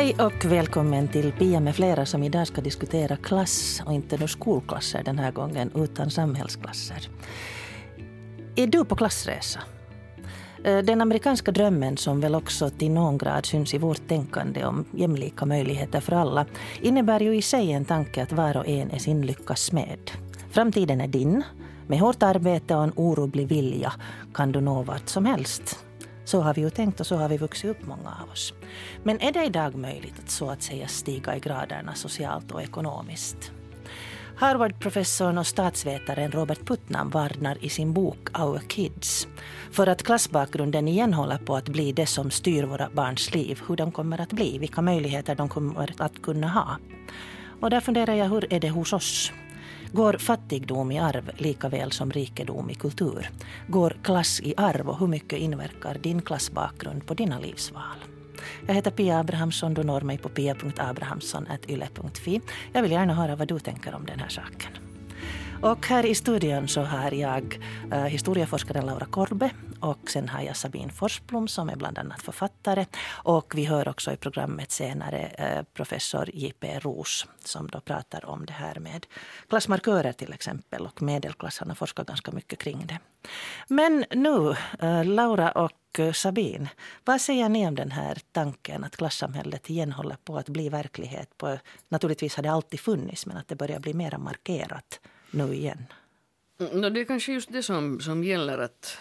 Hej och välkommen till Pia med flera som idag ska diskutera klass och inte några skolklasser den här gången utan samhällsklasser. Är du på klassresa? Den amerikanska drömmen som väl också till någon grad syns i vårt tänkande om jämlika möjligheter för alla innebär ju i sig en tanke att var och en är sin lyckas smed. Framtiden är din. Med hårt arbete och en orubblig vilja kan du nå vart som helst. Så har vi ju tänkt och så har vi vuxit upp många av oss. Men är det idag möjligt att så att säga stiga i graderna socialt och ekonomiskt? Harvard-professorn och statsvetaren Robert Putnam varnar i sin bok Our Kids för att klassbakgrunden igen håller på att bli det som styr våra barns liv, hur de kommer att bli, vilka möjligheter de kommer att kunna ha. Och där funderar jag, hur är det hos oss? Går fattigdom i arv lika väl som rikedom i kultur? Går klass i arv och hur mycket inverkar din klassbakgrund på dina livsval? Jag heter Pia Abrahamsson, du når mig på pia.abrahamsson@yle.fi. Jag vill gärna höra vad du tänker om den här saken. Och här i studion så har jag historieforskaren Laura Korbe och sen har jag Sabine Forsblom som är bland annat författare. Och vi hör också i programmet senare professor J.P. Roos som då pratar om det här med klassmarkörer till exempel, och medelklassarna forskar ganska mycket kring det. Men nu, Laura och Sabine, vad säger ni om den här tanken att klassamhället igen håller på att bli verklighet? Naturligtvis har det alltid funnits, men att det börjar bli mer markerat nu igen. Det är kanske just det som gäller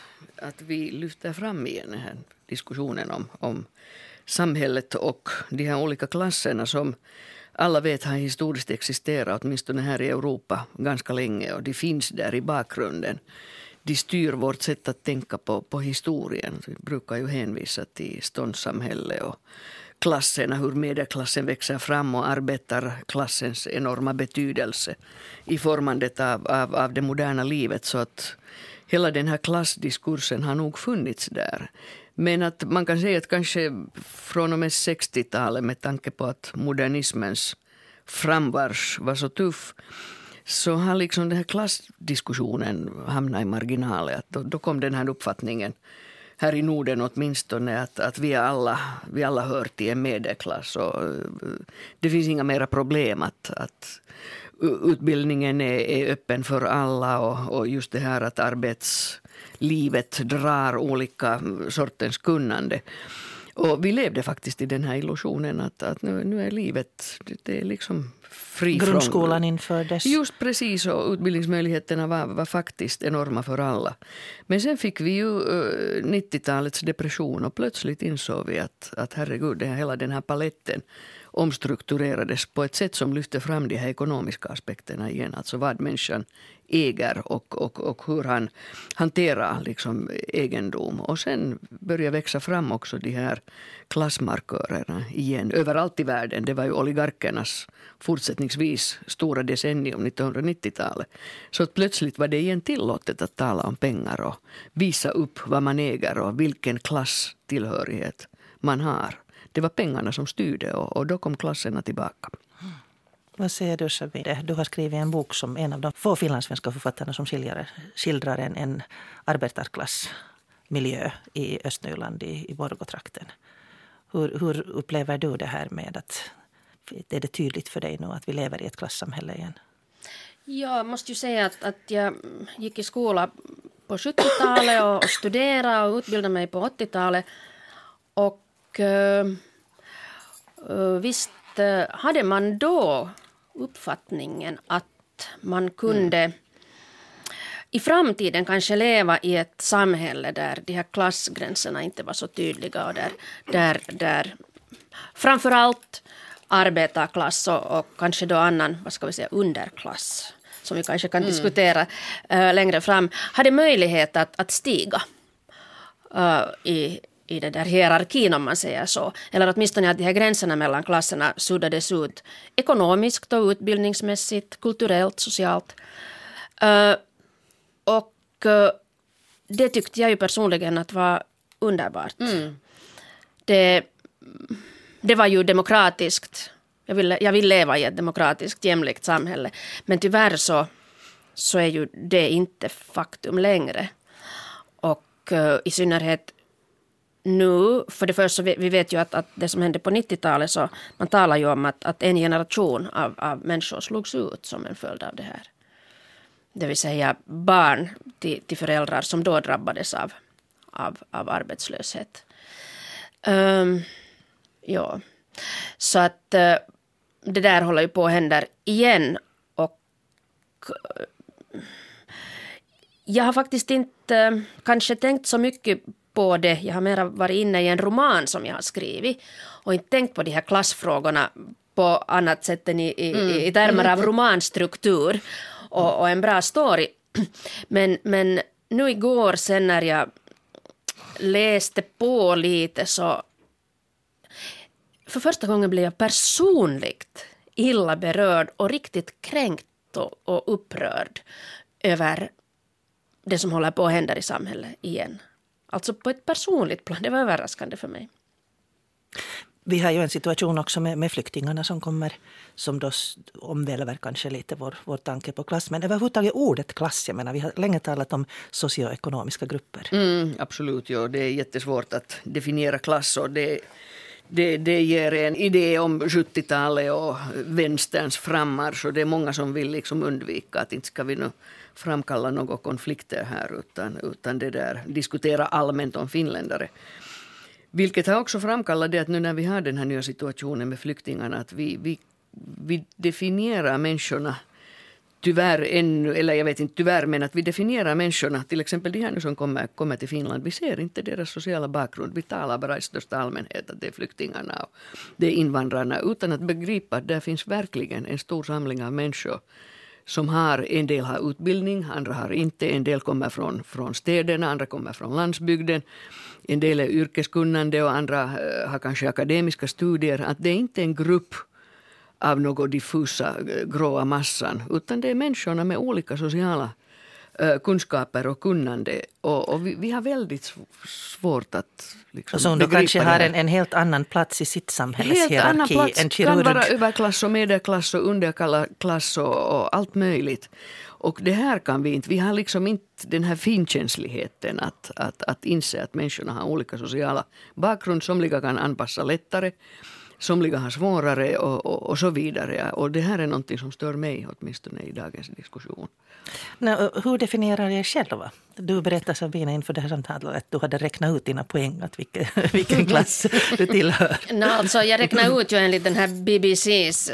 att vi lyfter fram igen den här diskussionen om samhället och de här olika klasserna som alla vet har historiskt existerat, åtminstone här i Europa ganska länge, och de finns där i bakgrunden. De styr vårt sätt att tänka på historien. Vi brukar ju hänvisa till ståndssamhälle och klasserna, hur medelklassen växer fram och arbetarklassens enorma betydelse i formandet av det moderna livet. Så att hela den här klassdiskursen har nog funnits där. Men att man kan säga att kanske från och med 60-talet, med tanke på att modernismens framvars var så tuff, så har liksom den här klassdiskussionen hamnat i marginalen. Då kom den här uppfattningen här i Norden åtminstone att vi alla hör till en medelklass, och det finns inga mera problem att utbildningen är öppen för alla, och just det här att arbetslivet drar olika sortens kunnande. Och vi levde faktiskt i den här illusionen att nu är livet, det är liksom fri från grundskolan infördes. Just precis, och utbildningsmöjligheterna var faktiskt enorma för alla. Men sen fick vi ju 90-talets depression, och plötsligt insåg vi att herregud, hela den här paletten omstrukturerades på ett sätt som lyfter fram de här ekonomiska aspekterna igen. Alltså vad människan äger och hur han hanterar liksom egendom. Och sen börjar växa fram också de här klassmarkörerna igen överallt i världen. Det var ju oligarkernas fortsättningsvis stora decennium, 1990-talet. Så att plötsligt var det igen tillåtet att tala om pengar och visa upp vad man äger och vilken klasstillhörighet man har. Det var pengarna som styrde, och då kom klasserna tillbaka. Vad säger du, Sabine? Du har skrivit en bok som en av de få finlandssvenska författarna som skildrar en arbetarklassmiljö i Östnyland, i Borgotrakten. Hur upplever du det här med att är det tydligt för dig nu att vi lever i ett klassamhälle igen? Jag måste ju säga att jag gick i skola på 70-talet och studerade och utbildade mig på 80-talet. Och visst hade man då uppfattningen att man kunde i framtiden kanske leva i ett samhälle där de här klassgränserna inte var så tydliga, och där framförallt arbetarklass och kanske då annan, vad ska vi säga, underklass, som vi kanske kan diskutera längre fram, hade möjlighet att stiga i den där hierarkin, om man säger så. Eller åtminstone att de här gränserna mellan klasserna suddades ut ekonomiskt och utbildningsmässigt, kulturellt, socialt. Och det tyckte jag ju personligen att var underbart. Det var ju demokratiskt. Jag vill leva i ett demokratiskt, jämlikt samhälle. Men tyvärr så är ju det inte faktum längre. Och i synnerhet nu, för det första, vi vet ju att det som hände på 90-talet, så man talar ju om att en generation av människor slogs ut som en följd av det här. Det vill säga barn till föräldrar som då drabbades av arbetslöshet. Ja, så att det där håller ju på att hända igen, och jag har faktiskt inte kanske tänkt så mycket på det. Jag har mer varit inne i en roman som jag har skrivit och inte tänkt på de här klassfrågorna på annat sätt än i termer av romanstruktur och en bra story. Men nu igår sen när jag läste på lite, så för första gången blev jag personligt illa berörd och riktigt kränkt och upprörd över det som håller på att hända i samhället igen. Alltså på ett personligt plan. Det var överraskande för mig. Vi har ju en situation också med flyktingarna som kommer, som då omvälver kanske lite vår tanke på klass. Men överhuvudtaget ordet klass, jag menar, vi har länge talat om socioekonomiska grupper. Absolut, ja. Det är jättesvårt att definiera klass, och det ger en idé om 70-talet och vänsterns frammarsch, och det är många som vill liksom undvika att inte ska vi nu framkalla några konflikter här, utan det där diskutera allmänt om finländare. Vilket har också framkallat det att nu när vi har den här nya situationen med flyktingarna, att vi definierar människorna tyvärr ännu, eller jag vet inte tyvärr, men att vi definierar människorna, till exempel de här nu som kommer till Finland, vi ser inte deras sociala bakgrund, vi talar bara i största allmänhet att det är flyktingarna och det är invandrarna, utan att begripa att där finns verkligen en stor samling av människor som har, en del har utbildning, andra har inte, en del kommer från städerna, andra kommer från landsbygden, en del är yrkeskunnande och andra har kanske akademiska studier, att det är inte en grupp av något diffusa gråa massan, utan det är människorna med olika sociala kunskaper och kunnande, och vi har väldigt svårt att liksom och som då kanske har en helt annan plats i sitt samhällshierarki än kirurg. Kan vara överklass och medelklass och underklass och allt möjligt. Och det här kan vi har liksom inte den här finkänsligheten att inse att människorna har olika sociala bakgrund. Somliga kan anpassa lättare, somliga har svårare och så vidare. Och det här är någonting som stör mig åtminstone i dagens diskussion. Hur definierar jag själva? Du berättade, Sabina, inför det här samtalet att du hade räknat ut dina poäng, att vilken klass du tillhör. Alltså, jag räknade ut ju enligt den här BBCs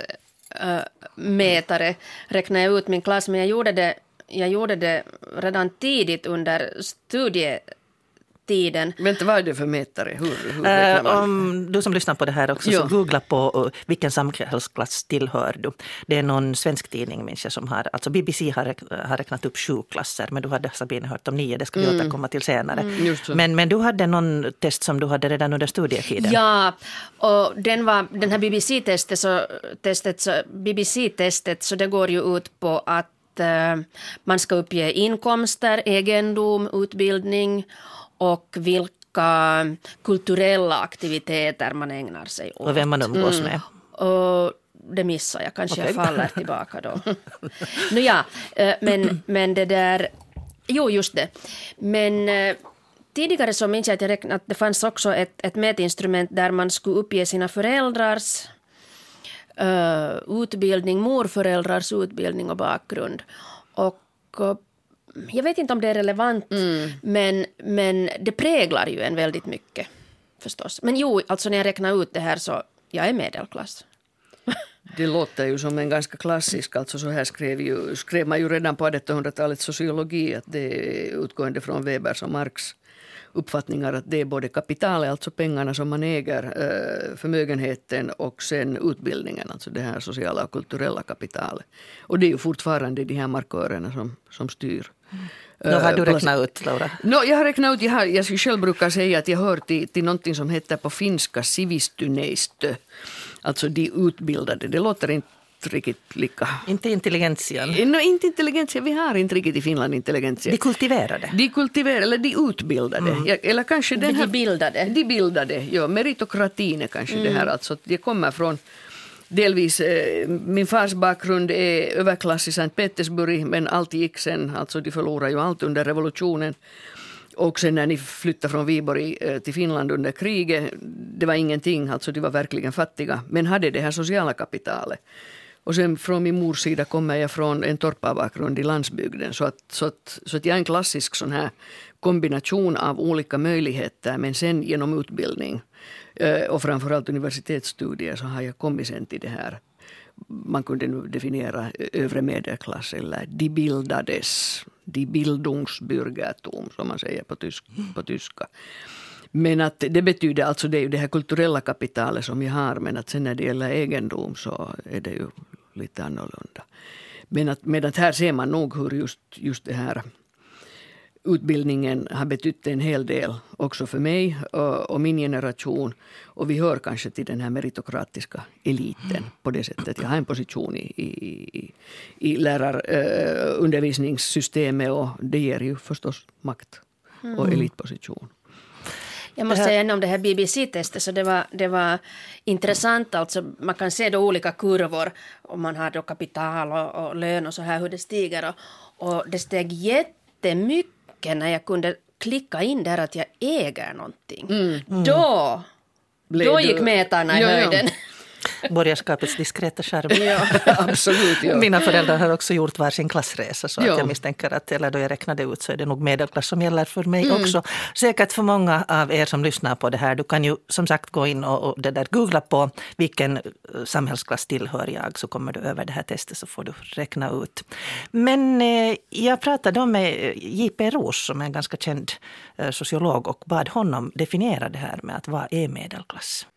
mätare, räknade jag ut min klass, men jag gjorde det redan tidigt under studietiden. Vänta, vad är det för mätare? Hur om du som lyssnar på det här också, så googla på vilken samhällsklass tillhör du. Det är någon svensk tidning, minns jag, som har, alltså BBC har räknat upp 7 klasser, men du hade, Sabine, hört om 9, det ska vi återkomma till senare. Men du hade någon test som du hade redan under studietiden. Ja, och den här BBC-testet, så det går ju ut på att man ska uppge inkomster, egendom, utbildning och vilka kulturella aktiviteter man ägnar sig åt. Och vem man umgås med. Och det missar jag, kanske jag faller tillbaka då. Men det där, jo just det. Men tidigare så minns jag att jag räknade att det fanns också ett mätinstrument där man skulle uppge sina föräldrars utbildning, morföräldrars utbildning och bakgrund. Och jag vet inte om det är relevant, men det präglar ju en väldigt mycket förstås. Men jo, alltså när jag räknar ut det här, så jag är medelklass. Det låter ju som en ganska klassisk, alltså så här skrev man ju redan på 1800-talets sociologi, att det är utgående från Webers och Marx uppfattningar, att det är både kapitalet, alltså pengarna som man äger, förmögenheten, och sen utbildningen, alltså det här sociala och kulturella kapitalet. Och det är ju fortfarande de här markörerna som styr. Då har du räknat ut, Laura? Jag har räknat ut, jag själv brukar säga att jag hör till någonting som heter på finska sivistyneistö, alltså de utbildade. Det låter inte riktigt lika. Inte intelligentian? Inte intelligentian, vi har inte riktigt i Finland intelligentian. De kultiverade? De kultiverade, eller de utbildade. Eller kanske den här, de bildade, ja, meritokratin är kanske det här. Alltså, det kommer från delvis, min fars bakgrund är överklass i Sankt Petersburg, men allt gick sen, alltså de förlorade ju allt under revolutionen. Och sen när ni flyttade från Viborg till Finland under kriget, det var ingenting, alltså de var verkligen fattiga, men hade det här sociala kapitalet. Och sen från min mors sida kommer jag från en torparbakgrund i landsbygden, så att jag är en klassisk sån här kombination av olika möjligheter, men sen genom utbildning och framförallt universitetsstudier så har jag kommit sen till det här. Man kunde nu definiera övre medelklass eller de bildades, die Bildungsbürgertum som man säger på tyska. Men att det betyder alltså det är ju det här kulturella kapitalet som jag har, men att sen när det gäller egendom så är det ju lite annorlunda. Men att här ser man nog hur just det här utbildningen har betytt en hel del också för mig och min generation. Och vi hör kanske till den här meritokratiska eliten på det sättet. Jag har en position i lärarundervisningssystemet och det ger ju förstås makt och elitposition. Jag måste säga om det här BBC-testet, så det var intressant. Alltså, man kan se då olika kurvor om man har då kapital och lön och så här hur det stiger. Och det steg jättemycket när jag kunde klicka in där att jag äger någonting. Då gick metarna i höjden. Borgerskapets diskreta charm. Ja, absolut. Ja. Mina föräldrar har också gjort varsin klassresa, så att jag misstänker att, eller då jag räknade ut, så är det nog medelklass som gäller för mig också. Säkert för många av er som lyssnar på det här. Du kan ju som sagt gå in och det där googla på vilken samhällsklass tillhör jag, så kommer du över det här testet så får du räkna ut. Men jag pratade med J.P. Roos som är en ganska känd sociolog och bad honom definiera det här med att vad är medelklass.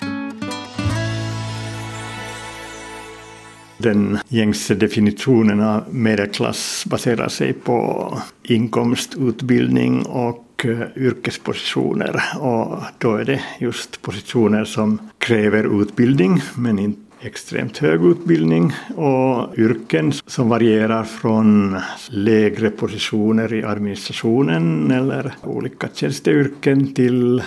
Den gängse definitionen av medelklass baserar sig på inkomst, utbildning och yrkespositioner. Och då är det just positioner som kräver utbildning men inte extremt hög utbildning, och yrken som varierar från lägre positioner i administrationen eller olika tjänsteyrken till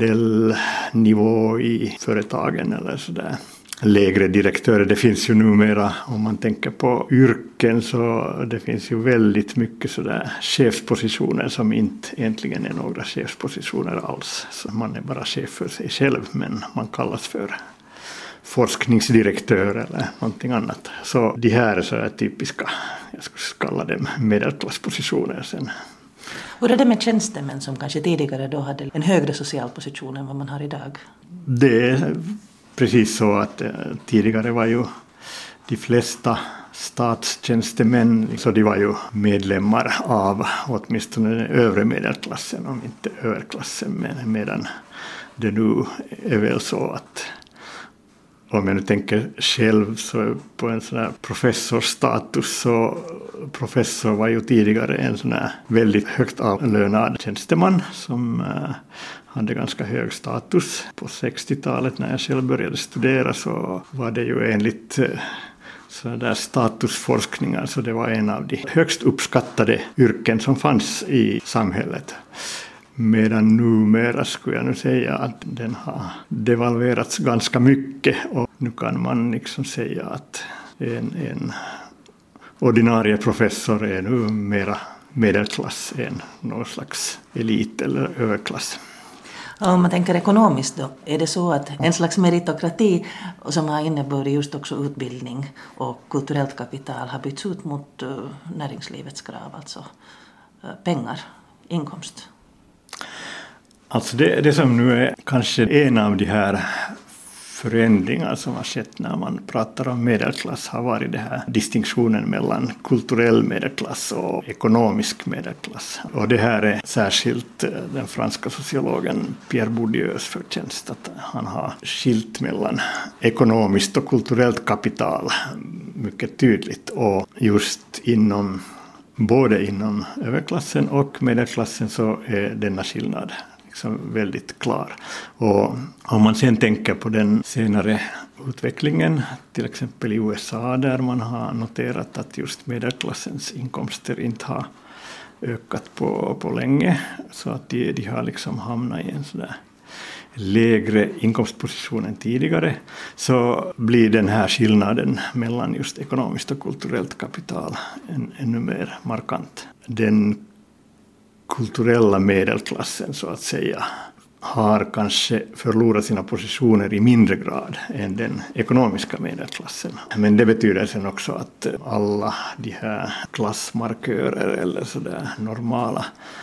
medelnivå i företagen eller sådär. Lägre direktörer, det finns ju numera, om man tänker på yrken, så det finns ju väldigt mycket sådär chefspositioner som inte egentligen är några chefspositioner alls. Så man är bara chef för sig själv, men man kallas för forskningsdirektör eller någonting annat. Så de här är så här typiska, jag skulle kalla dem medelklasspositioner sen. Hur är det med tjänstemän som kanske tidigare då hade en högre social position än vad man har idag? Det är precis så att tidigare var ju de flesta statstjänstemän, så de var ju medlemmar av åtminstone den övre medelklassen, om inte överklassen, medan det nu är väl så att, om jag nu tänker själv så på en sån här professorstatus, så professor var ju tidigare en sån här väldigt högt avlönad tjänsteman som hade ganska hög status. På 60-talet när jag själv började studera så var det ju enligt så där statusforskningar, så det var en av de högst uppskattade yrken som fanns i samhället. Medan numera skulle jag nu säga att den har devalverats ganska mycket, och nu kan man liksom säga att en ordinarie professor är nu mera medelklass än någon slags elit eller överklass. Om man tänker ekonomiskt då, är det så att en slags meritokrati som har inneburit just också utbildning och kulturellt kapital har bytts ut mot näringslivets krav, alltså pengar, inkomst? Alltså det som nu är kanske en av de här förändringar som har skett när man pratar om medelklass har varit det här distinktionen mellan kulturell medelklass och ekonomisk medelklass. Och det här är särskilt den franska sociologen Pierre Bourdieus förtjänst, att han har skilt mellan ekonomiskt och kulturellt kapital mycket tydligt, och just både inom överklassen och medelklassen så är denna skillnad liksom väldigt klar. Och om man sen tänker på den senare utvecklingen, till exempel i USA, där man har noterat att just medelklassens inkomster inte har ökat på länge, så att de har liksom hamnat i en sådär lägre inkomstposition än tidigare, så blir den här skillnaden mellan just ekonomiskt och kulturellt kapital ännu mer markant. Den kulturella medelklassen så att säga har kanske förlorat sina positioner i mindre grad än den ekonomiska medelklassen. Men det betyder sen också att alla de här klassmarkörer eller sådär normala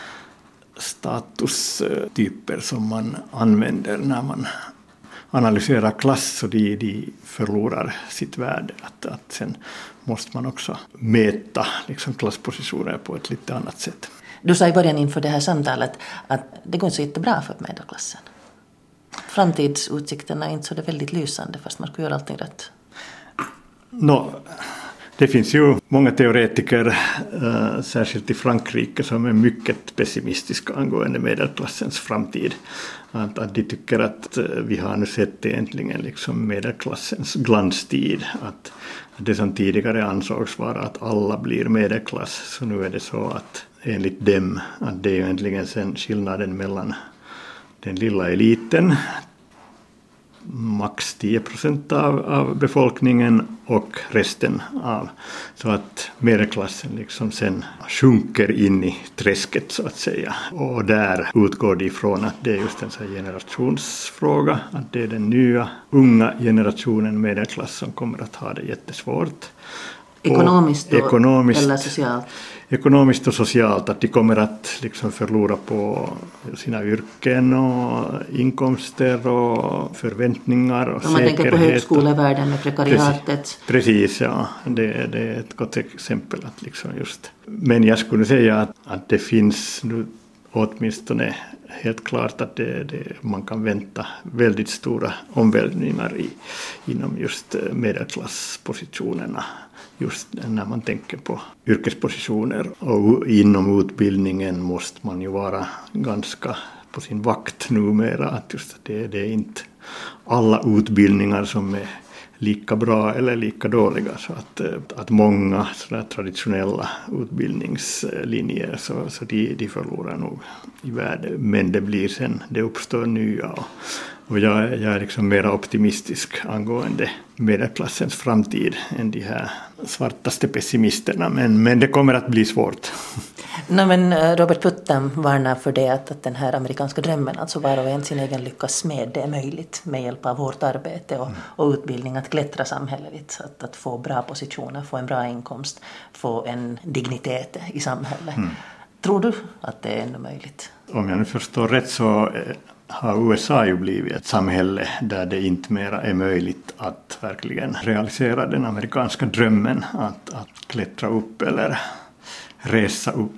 statustyper som man använder när man analyserar klass, så de förlorar sitt värde. Att sen måste man också mäta liksom klasspositioner på ett lite annat sätt. Du sa i början inför det här samtalet att det går inte så jättebra för medelklassen. Framtidsutsikterna är inte så det väldigt lysande fast man ska göra allting rätt. Det finns ju många teoretiker, särskilt i Frankrike, som är mycket pessimistiska angående medelklassens framtid. Att de tycker att vi har nu sett egentligen liksom medelklassens glanstid. Att det som tidigare ansågs vara att alla blir medelklass, så nu är det så att enligt dem att det är egentligen sen skillnaden mellan den lilla eliten, max 10% av befolkningen, och resten av. Så att medelklassen liksom sen sjunker in i träsket så att säga. Och där utgår de ifrån att det är just en sån generationsfråga. Att det är den nya unga generationen medelklass som kommer att ha det jättesvårt. Ekonomiskt eller socialt? Ekonomiskt och socialt, att de kommer att liksom förlora på sina yrken och inkomster och förväntningar och säkerhet. Man tänker på högskolevärlden med prekariatet. Precis, ja. Det är ett gott exempel. Att liksom just. Men jag skulle säga att det finns nu åtminstone helt klart att man kan vänta väldigt stora omvälvningar inom just medelklasspositionerna. Just när man tänker på yrkespositioner, och inom utbildningen måste man ju vara ganska på sin vakt numera. Att just det är inte alla utbildningar som är lika bra eller lika dåliga. Så att många sådär traditionella utbildningslinjer så de förlorar nog i värde. Men det uppstår nya. Och jag är liksom mer optimistisk angående medelklassens framtid än de här svartaste pessimisterna. Men det kommer att bli svårt. Men Robert Putnam varnar för det att den här amerikanska drömmen, alltså var och en sin egen lyckas med, det är möjligt med hjälp av hårt arbete och utbildning att klättra samhälleligt. Att få bra positioner, få en bra inkomst, få en dignitet i samhället. Tror du att det är ännu möjligt? Om jag nu förstår rätt så har USA ju blivit ett samhälle där det inte mera är möjligt att verkligen realisera den amerikanska drömmen att klättra upp eller resa upp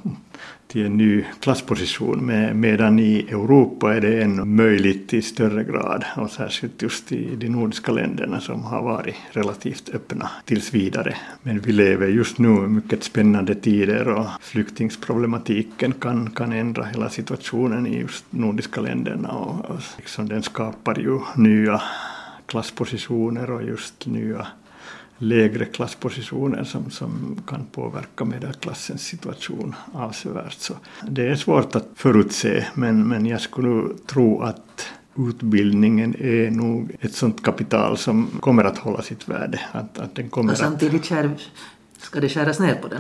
till en ny klassposition, medan i Europa är det ännu möjligt i större grad, och särskilt just i de nordiska länderna som har varit relativt öppna tills vidare. Men vi lever just nu i mycket spännande tider, och flyktingsproblematiken kan ändra hela situationen i just nordiska länderna, och liksom den skapar ju nya klasspositioner och just nya lägre klasspositioner som kan påverka medelklassens situation avsevärt. Så det är svårt att förutse, men jag skulle tro att utbildningen är nog ett sånt kapital som kommer att hålla sitt värde. Att den kommer och samtidigt ska det skäras ner på den?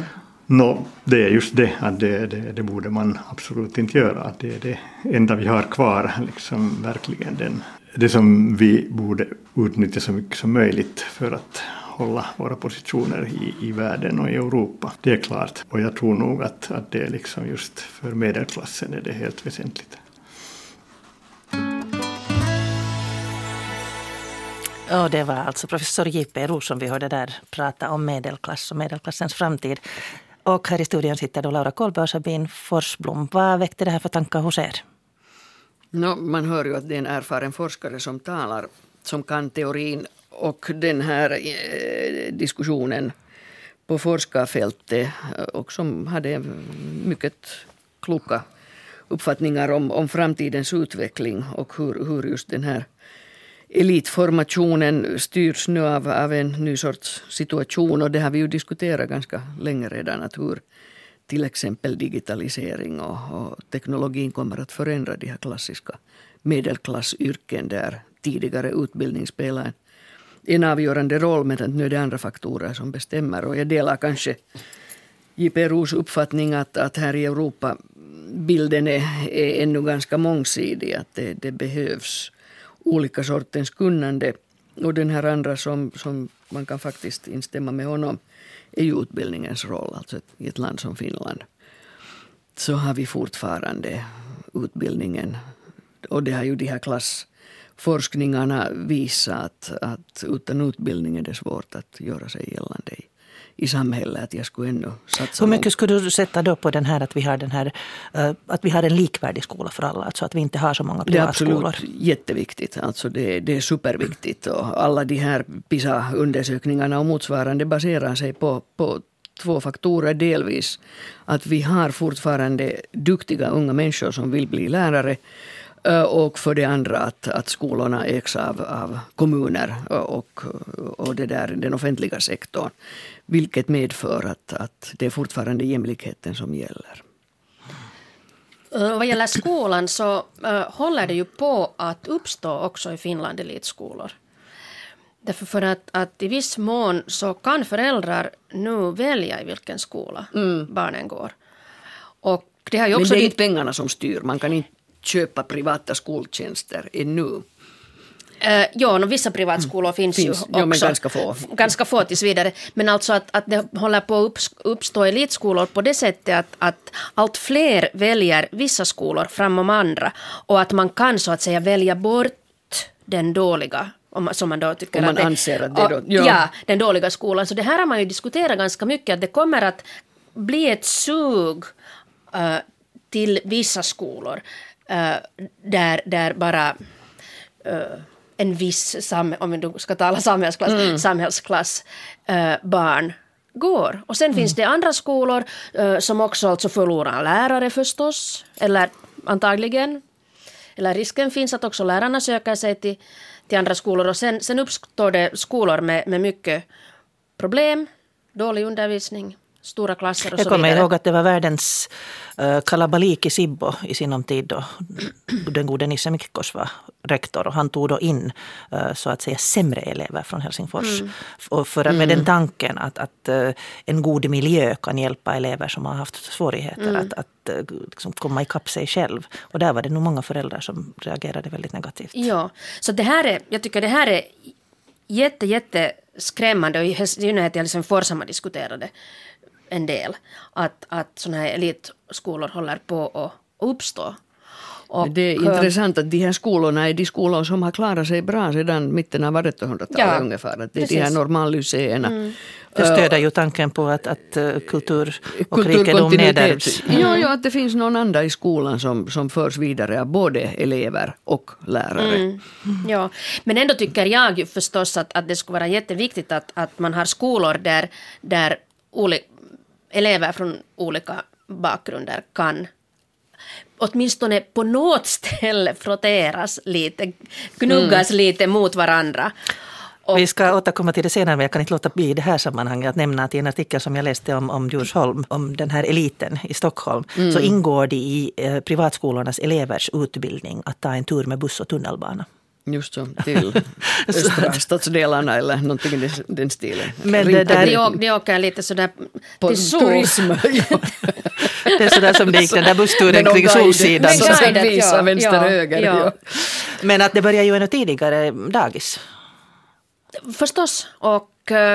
Det är just det, att det borde man absolut inte göra. Att det är det enda vi har kvar, liksom verkligen det som vi borde utnyttja så mycket som möjligt för att hålla våra positioner i världen och i Europa. Det är klart. Och jag tror nog att det är liksom just för medelklassen är det helt väsentligt. Och det var alltså professor J.P. Roos som vi hörde där prata om medelklass och medelklassens framtid. Och här i studion sitter då Laura Kolbe och Sabine Forsblom. Vad väckte det här för tankar hos er? Man hör ju att det är en erfaren forskare som talar, som kan teorin. Och den här diskussionen på forskarfältet, och som hade mycket kloka uppfattningar om framtidens utveckling och hur just den här elitformationen styrs nu av en ny sorts situation. Och det har vi ju diskuterat ganska länge redan, att hur till exempel digitalisering och teknologin kommer att förändra de här klassiska medelklassyrken där tidigare utbildning spelar en avgörande roll, men att nu är det andra faktorer som bestämmer. Och jag delar kanske JPROs uppfattning att här i Europa bilden är ännu ganska mångsidig, att det behövs olika sortens kunnande. Och den här andra som man kan faktiskt instämma med honom är ju utbildningens roll. Alltså i ett land som Finland så har vi fortfarande utbildningen. Och det har ju de här klassforskningarna visat att utan utbildning är det svårt att göra sig gällande i samhället. Att jag skulle ännu satsa. Hur mycket skulle du sätta då på den här att vi har en likvärdig skola för alla? Alltså att vi inte har så många privatskolor? Det är absolut jätteviktigt. Alltså det är superviktigt. Och alla de här PISA-undersökningarna och motsvarande baserar sig på 2 faktorer. Delvis att vi har fortfarande duktiga unga människor som vill bli lärare. Och för det andra att skolorna ägs av kommuner och den offentliga sektorn. Vilket medför att det är fortfarande jämlikheten som gäller. Vad gäller skolan så håller det ju på att uppstå också i Finland elitskolor. Därför för att i viss mån så kan föräldrar nu välja i vilken skola barnen går. Och det har ju också men det är inte pengarna som styr. Man kan inte köpa privata skoltjänster ännu. Vissa privatskolor finns ju också. Ja, men ganska få. Ganska få tills vidare. Men alltså att det håller på att uppstå elitskolor på det sättet att allt fler väljer vissa skolor framom andra. Och att man kan så att säga välja bort den dåliga, som man då tycker om man anser att det är då, ja, den dåliga skolan. Så det här har man ju diskuterat ganska mycket. Att det kommer att bli ett sug till vissa skolor. Där bara en viss, om vi ska tala samhällsklass barn går. Och sen finns det andra skolor som också alltså förlorar lärare förstås, eller antagligen, eller risken finns att också lärarna söker sig till andra skolor. Och sen uppstår det skolor med mycket problem, dålig undervisning, stora klasser och så vidare. Jag kommer ihåg att det var världens kalabalik i Sibbo i sinom tid då den gode Nisse Mikkos var rektor och han tog då in så att säga sämre elever från Helsingfors. Och med den tanken att en god miljö kan hjälpa elever som har haft svårigheter att liksom komma ikapp sig själv. Och där var det nog många föräldrar som reagerade väldigt negativt. Ja, så jag tycker det här är jätte skrämmande, och i synnerhet i Helsingfors har man diskuterade en del att sådana här elitskolor håller på att uppstå. Och det är intressant att de här skolorna är de skolor som har klarat sig bra sedan mitten av 1800-talet ungefär. Att det är de här normallycéerna. Det stöder ju tanken på att kultur och rikedom nedärvs. Ja, att det finns någon anda i skolan som förs vidare av både elever och lärare. Ja, men ändå tycker jag ju förstås att det skulle vara jätteviktigt att man har skolor där elever från olika bakgrunder kan åtminstone på något ställe frotteras lite, gnuggas lite mot varandra. Vi ska återkomma till det senare, men jag kan inte låta bli i det här sammanhanget att nämna att i en artikel som jag läste om Djursholm, om den här eliten i Stockholm, så ingår det i privatskolornas elevers utbildning att ta en tur med buss och tunnelbana. Just så, till östra stadsdelarna eller någonting i den stilen. Men det åker lite sådär på till turism. Det är sådär som det gick den där bussturen kring Solsidan. Som visar vänster höger. Ja. Men att det börjar ju ännu tidigare dagis. Förstås. Och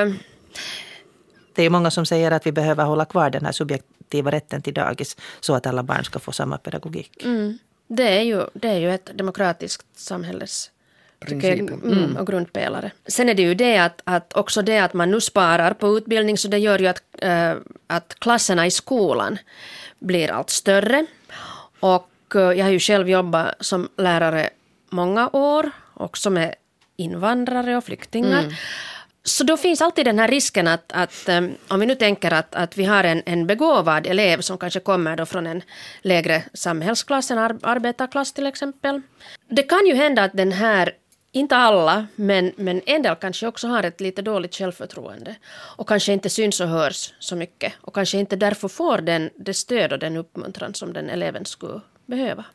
det är många som säger att vi behöver hålla kvar den här subjektiva rätten till dagis så att alla barn ska få samma pedagogik. Det är ju ett demokratiskt samhälles och grundpelare. Sen är det ju det att också det att man nu sparar på utbildning, så det gör ju att klasserna i skolan blir allt större. Och jag har ju själv jobbat som lärare många år, också med invandrare och flyktingar. Så då finns alltid den här risken att om vi nu tänker att vi har en begåvad elev som kanske kommer då från en lägre samhällsklass, en arbetarklass till exempel. Det kan ju hända att den här, inte alla, men en del kanske också har ett lite dåligt självförtroende och kanske inte syns och hörs så mycket och kanske inte därför får det stöd och den uppmuntran som den eleven skulle behöva.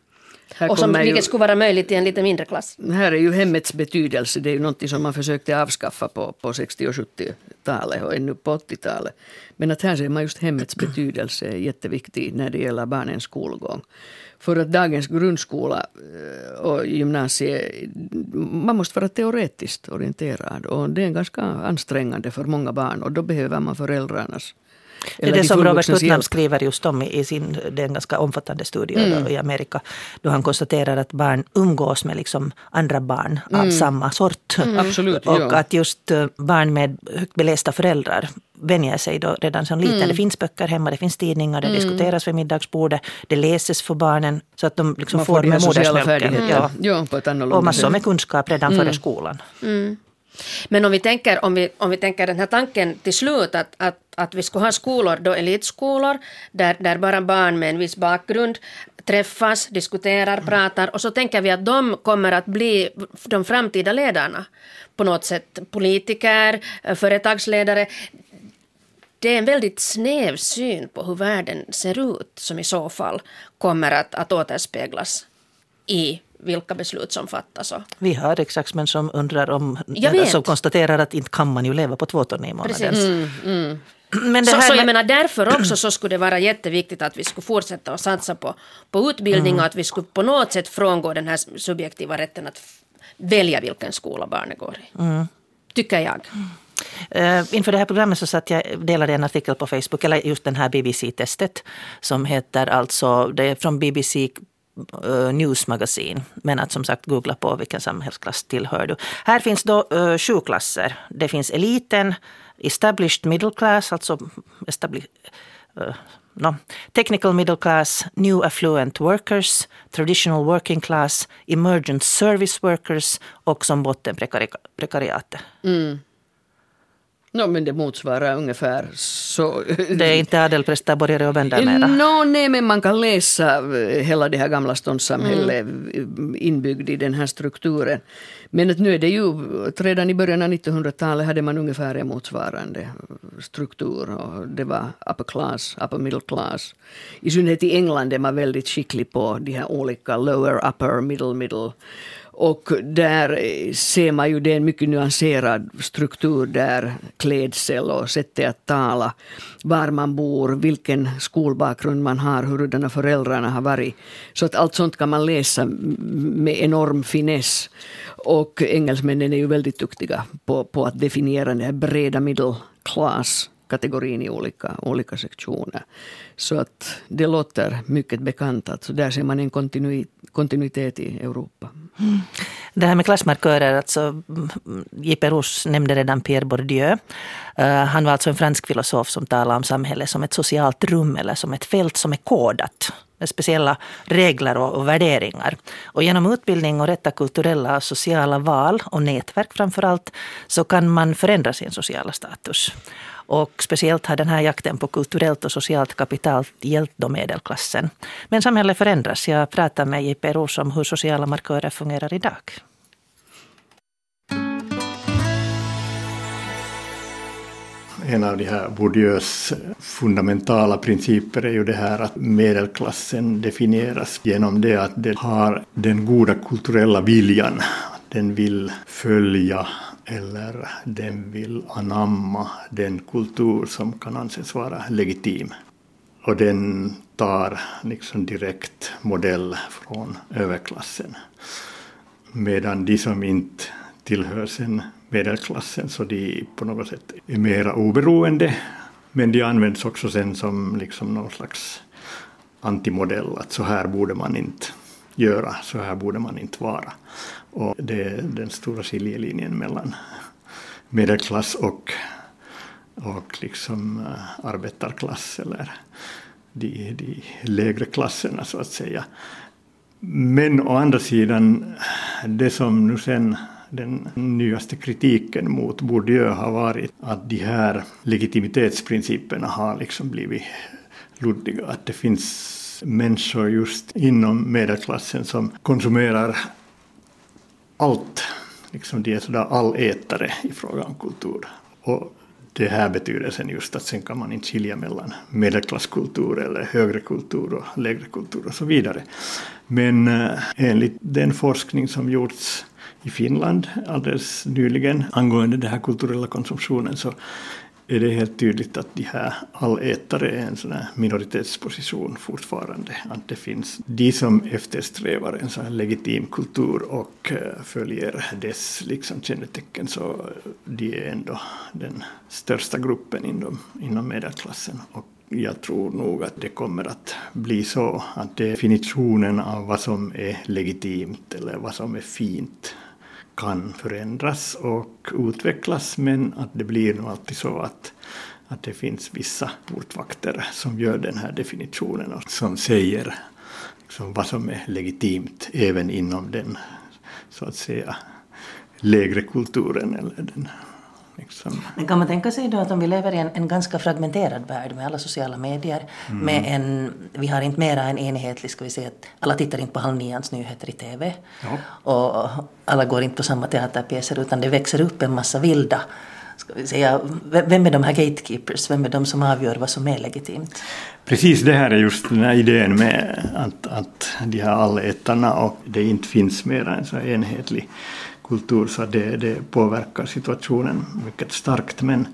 Och som vilket skulle vara möjligt i en lite mindre klass. Här är ju hemmets betydelse, det är ju något som man försökte avskaffa på 60- och 70-talet och ännu på 80-talet. Men att här ser man just hemmets betydelse är jätteviktig när det gäller barnens skolgång. För att dagens grundskola och gymnasie, man måste vara teoretiskt orienterad och det är ganska ansträngande för många barn och då behöver man föräldrarnas. Det är det som Robert Putnam skriver just om i den ganska omfattande studie i Amerika. Då han konstaterar att barn umgås med liksom andra barn av samma sort. Absolut, och att just barn med högt belästa föräldrar vänjer sig då redan som liten. Det finns böcker hemma, det finns tidningar, det diskuteras vid middagsbordet, det läses för barnen så att de liksom får med modersmjölken. Ja, på ett annorlunda och massor med kunskap redan före skolan. Men om vi tänker den här tanken till slut att vi ska ha skolor, då elitskolor, där bara barn med en viss bakgrund träffas, diskuterar, pratar och så tänker vi att de kommer att bli de framtida ledarna. På något sätt politiker, företagsledare. Det är en väldigt snäv syn på hur världen ser ut som i så fall kommer att återspeglas i vilka beslut som fattas. Vi har riksdagsmän som undrar som konstaterar att inte kan man ju leva på 2 ton i månaden. Men det här jag menar därför också så skulle det vara jätteviktigt att vi skulle fortsätta att satsa på utbildning och att vi skulle på något sätt frångå den här subjektiva rätten att välja vilken skola barnet går i. Tycker jag. Inför det här programmet så delade jag en artikel på Facebook, eller just den här BBC-testet som heter alltså, det är från BBC News Magazine, men att som sagt googla på vilken samhällsklass tillhör du. Här finns då 7 klasser. Det finns eliten, established middle class, alltså technical middle class, new affluent workers, traditional working class, emergent service workers och som botten prekariatet. Men det motsvarar ungefär så. Det är inte adelpräster, borgare och bönder mera. Nej, men man kan läsa hela det här gamla ståndssamhället inbyggd i den här strukturen. Men att nu är det ju, redan i början av 1900-talet hade man ungefär en motsvarande struktur. Och det var upper class, upper middle class. I synnerhet i England är man väldigt skicklig på de här olika lower, upper, middle. Och där ser man ju det är en mycket nyanserad struktur där klädsel och sättet att tala, var man bor, vilken skolbakgrund man har, hurdana föräldrarna har varit. Så att allt sånt kan man läsa med enorm finess. Och engelsmännen är ju väldigt duktiga på att definiera den här breda middle class kategorin i olika sektioner. Så att det låter mycket bekant. Alltså där ser man en kontinuitet i Europa. Det här med klassmarkörer, alltså J.P. Roos nämnde redan Pierre Bourdieu. Han var alltså en fransk filosof som talade om samhället som ett socialt rum eller som ett fält som är kodat med speciella regler och värderingar. Och genom utbildning och rätta kulturella och sociala val och nätverk framförallt så kan man förändra sin sociala status. Och speciellt har den här jakten på kulturellt och socialt kapital hjälpt då medelklassen. Men samhället förändras. Jag pratar med J.P. Roos om hur sociala markörer fungerar idag. En av de här Bourdieus fundamentala principer är ju det här att medelklassen definieras genom det att det har den goda kulturella viljan. Den vill följa eller den vill anamma den kultur som kan anses vara legitim. Och den tar liksom direkt modell från överklassen. Medan de som inte tillhör sen medelklassen så de på något sätt är mera oberoende. Men de används också sen som liksom någon slags antimodell. Att så här borde man inte göra, så här borde man inte vara. Och det är den stora skiljelinjen mellan medelklass och liksom arbetarklass eller de lägre klasserna så att säga. Men å andra sidan, det som nu sen den nyaste kritiken mot Bourdieu har varit att de här legitimitetsprinciperna har liksom blivit luddiga. Att det finns människor just inom medelklassen som konsumerar allt. Liksom de är sådär allätare i fråga om kultur. Och det här betydelsen just att sen kan man inte skilja mellan medelklasskultur eller högre kultur och lägre kultur och så vidare. Men enligt den forskning som gjorts i Finland alldeles nyligen angående den här kulturella konsumtionen så är det helt tydligt att de här allätare är en sån här minoritetsposition fortfarande. Att det finns de som eftersträvar en sån här legitim kultur och följer dess liksom kännetecken, så de är ändå den största gruppen inom medelklassen. Och jag tror nog att det kommer att bli så att definitionen av vad som är legitimt eller vad som är fint kan förändras och utvecklas, men att det blir nog alltid så att det finns vissa portvakter som gör den här definitionen och som säger liksom vad som är legitimt även inom den så att säga lägre kulturen eller den. Liksom. Men kan man tänka sig då att om vi lever i en ganska fragmenterad värld med alla sociala medier, vi har inte mera en enhetlig, ska vi säga att alla tittar inte på 8:30 nyheter i TV och alla går inte på samma teaterpjäser, utan det växer upp en massa vilda, ska vi säga, vem är de här gatekeepers, vem är de som avgör vad som är legitimt? Precis, det här är just den här idén med att de här allätarna och det inte finns mera en så enhetlig kultur, så det påverkar situationen mycket starkt. Men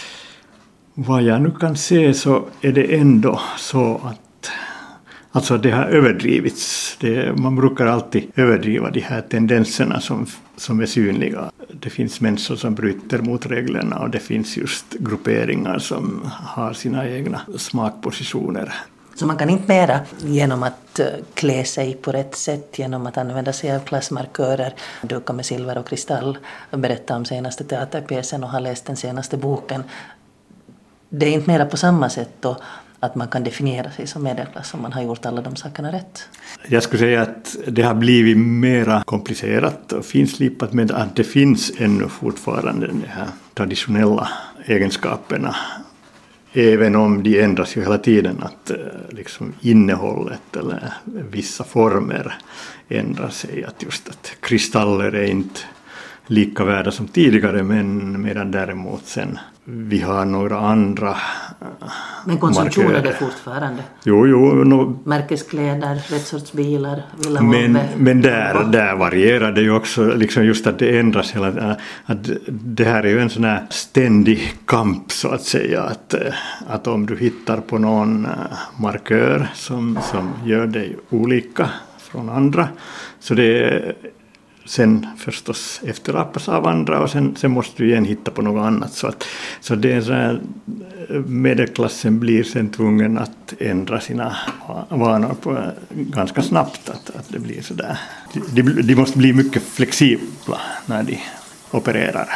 vad jag nu kan se så är det ändå så att alltså det har överdrivits. Man brukar alltid överdriva de här tendenserna som är synliga. Det finns människor som bryter mot reglerna och det finns just grupperingar som har sina egna smakpositioner. Så man kan inte mera genom att klä sig på rätt sätt, genom att använda sig av klassmarkörer, duka med silver och kristall, berätta om senaste teaterpjäsen och ha läst den senaste boken. Det är inte mera på samma sätt då att man kan definiera sig som medelklass om man har gjort alla de sakerna rätt. Jag skulle säga att det har blivit mera komplicerat och finslipat, med att det finns ännu fortfarande de här traditionella egenskaperna. Även om de ändras ju hela tiden, att liksom innehållet eller vissa former ändrar sig. Att just att kristaller är inte lika värda som tidigare, men medan däremot sen vi har några andra men konsumtion markörer. Är det fortfarande? Jo. Märkeskläder, rätt sorts bilar, men där varierar det ju också, liksom just att det ändras hela, att det här är ju en sån här ständig kamp så att säga, att om du hittar på någon markör som gör dig olika från andra, så det sen förstås efterappas av andra och sen måste du igen hitta på något annat. Så det är så här, medelklassen blir sen tvungen att ändra sina vanor på ganska snabbt. Att det blir så där. De måste bli mycket flexibla när de opererar.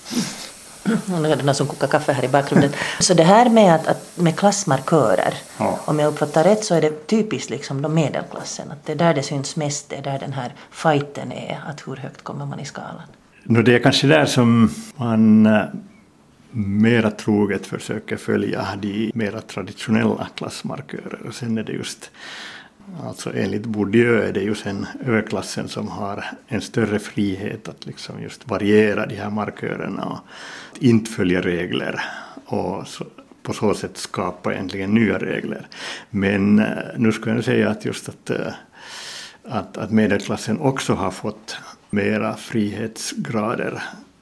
Nu är det någon som kokar kaffe här i bakgrunden. Så det här med klassmarkörer, om jag uppfattar rätt så är det typiskt liksom de medelklassen. Att det är där det syns mest, det är där den här fighten är, att hur högt kommer man i skalan. Det är kanske där som man mera troget försöker följa de mera traditionella klassmarkörer. Och sen är det just, alltså enligt Bourdieu är det ju sen överklassen som har en större frihet att liksom just variera de här markörerna och inte följa regler och på så sätt skapa egentligen nya regler. Men nu skulle jag säga att just att medelklassen också har fått mera frihetsgrader,